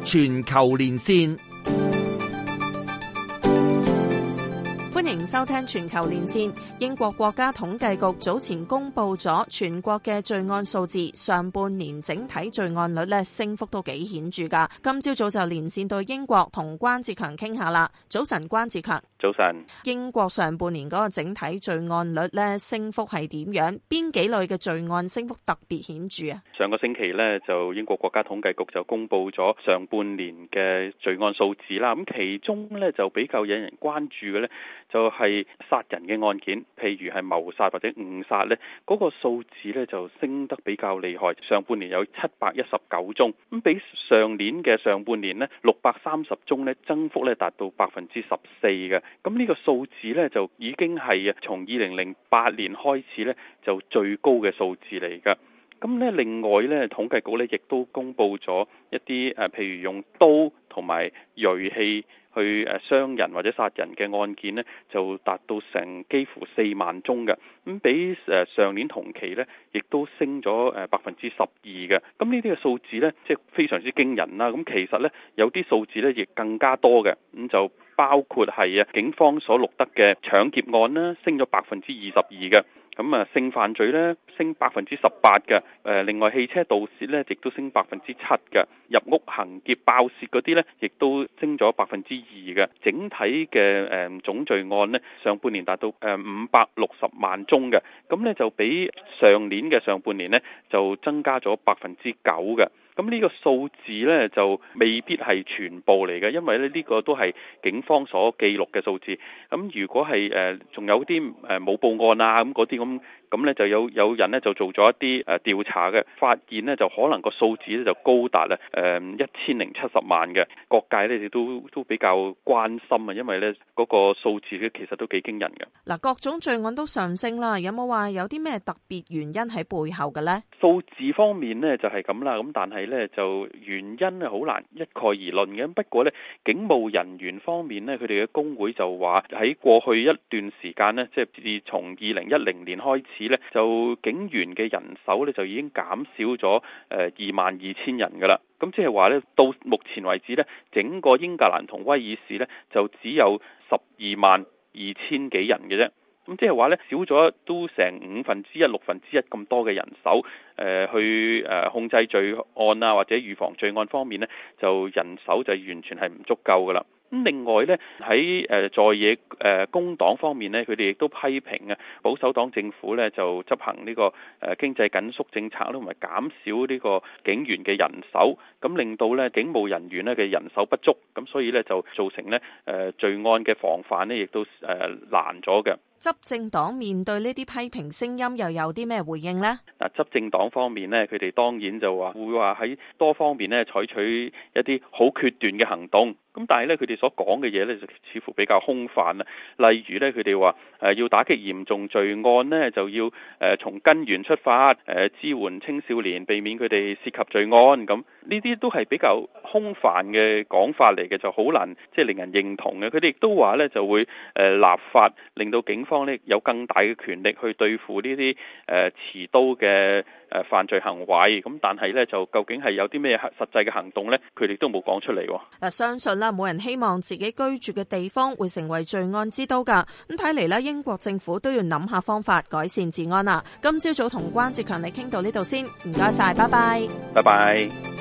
全球連線。 歡迎收聽全球連線。英國國家統計局早前公布咗全國嘅罪案數字，上半年整體罪案率升幅都幾顯著噶。今朝早就連線到英國同關志強傾下啦。早晨，關志強。 早晨。 英國上半年嗰個整體罪案率升幅係點樣？邊幾類嘅罪案升幅特別顯著啊？ 上個星期就英國國家統計局就公布咗上半年嘅罪案數字啦。咁其中就比較引人關注嘅就係殺人嘅案件，譬如係謀殺或者誤殺嗰個數字就升得比較厲害。上半年有719宗，咁比上年嘅上半年630宗增幅達到14%嘅。咁呢個數字就已經係從2008年開始就最高嘅數字嚟㗎。咁另外統計局亦都公布咗一啲譬如用刀同埋銳器去傷人或者殺人嘅案件就達到成幾乎4萬宗嘅。咁比上年同期亦都升咗12%嘅。咁呢啲嘅數字即係非常之驚人啦。咁其實有啲數字亦更加多嘅。咁就包括係警方所錄得嘅搶劫案啦，升咗22%嘅。咁性犯罪升18%嘅。另外汽車盜竊亦都升7%嘅。入屋行劫爆竊嗰啲亦都升咗2%嘅。整體嘅總罪案上半年達到560萬宗嘅。咁就比上年嘅上半年就增加咗9%嘅。咁呢個數字就未必係全部嚟嘅，因為呢個都係警方所記錄嘅數字。咁如果係仲有啲冇報案啊嗰啲咁就有人就做咗一啲調查嘅，發現就可能個數字就高達1070萬嘅。各界亦都比較關心啊，因為嗰個數字其實都幾驚人嘅。 嗱，各種罪案都上升啦，有冇話有啲咩特別原因喺背後嘅呢？ 數字方面就係咁啦，咁但係就原因好難一概而論嘅。不過警務人員方面佢哋嘅工會就話喺過去一段時間即係自從2010年開始就警員嘅人手就已經減少咗22,000人噶啦。咁即係話到目前為止整個英格蘭同威爾士就只有122000幾人嘅啫。咁即係話少咗都成1/5、1/6咁多嘅人手，去控制罪案啊或者預防罪案方面就人手就完全係唔足夠噶啦。咁另外喺在野工黨方面佢哋亦都批評保守黨政府就執行呢個經濟緊縮政策同埋減少呢個警員嘅人手，咁令到警務人員嘅人手不足，咁所以就造成罪案嘅防範亦都難咗嘅。 執政黨面對呢啲批評聲音又有啲咩回應呢？ 嗱，執政黨方面佢哋當然就會話喺多方面採取一啲好決斷嘅行動。咁但係佢哋所講嘅嘢就似乎比較空泛啦。例如佢哋話要打擊嚴重罪案就要從根源出發，支援青少年，避免佢哋涉及罪案。咁呢啲都係比較空泛嘅講法嚟嘅，就好難即係令人認同嘅。佢哋亦都話就會立法，令到警方有更大嘅權力去對付呢啲持刀嘅犯罪行為。咁但係就究竟係有啲咩實際嘅行動佢哋都冇講出嚟。 嗱，相信冇人希望自己居住嘅地方會成為罪案之都㗎。咁睇嚟英國政府都要諗下方法改善治安啦。今朝早同關志強你傾到呢度先，唔該晒，拜拜。 拜拜。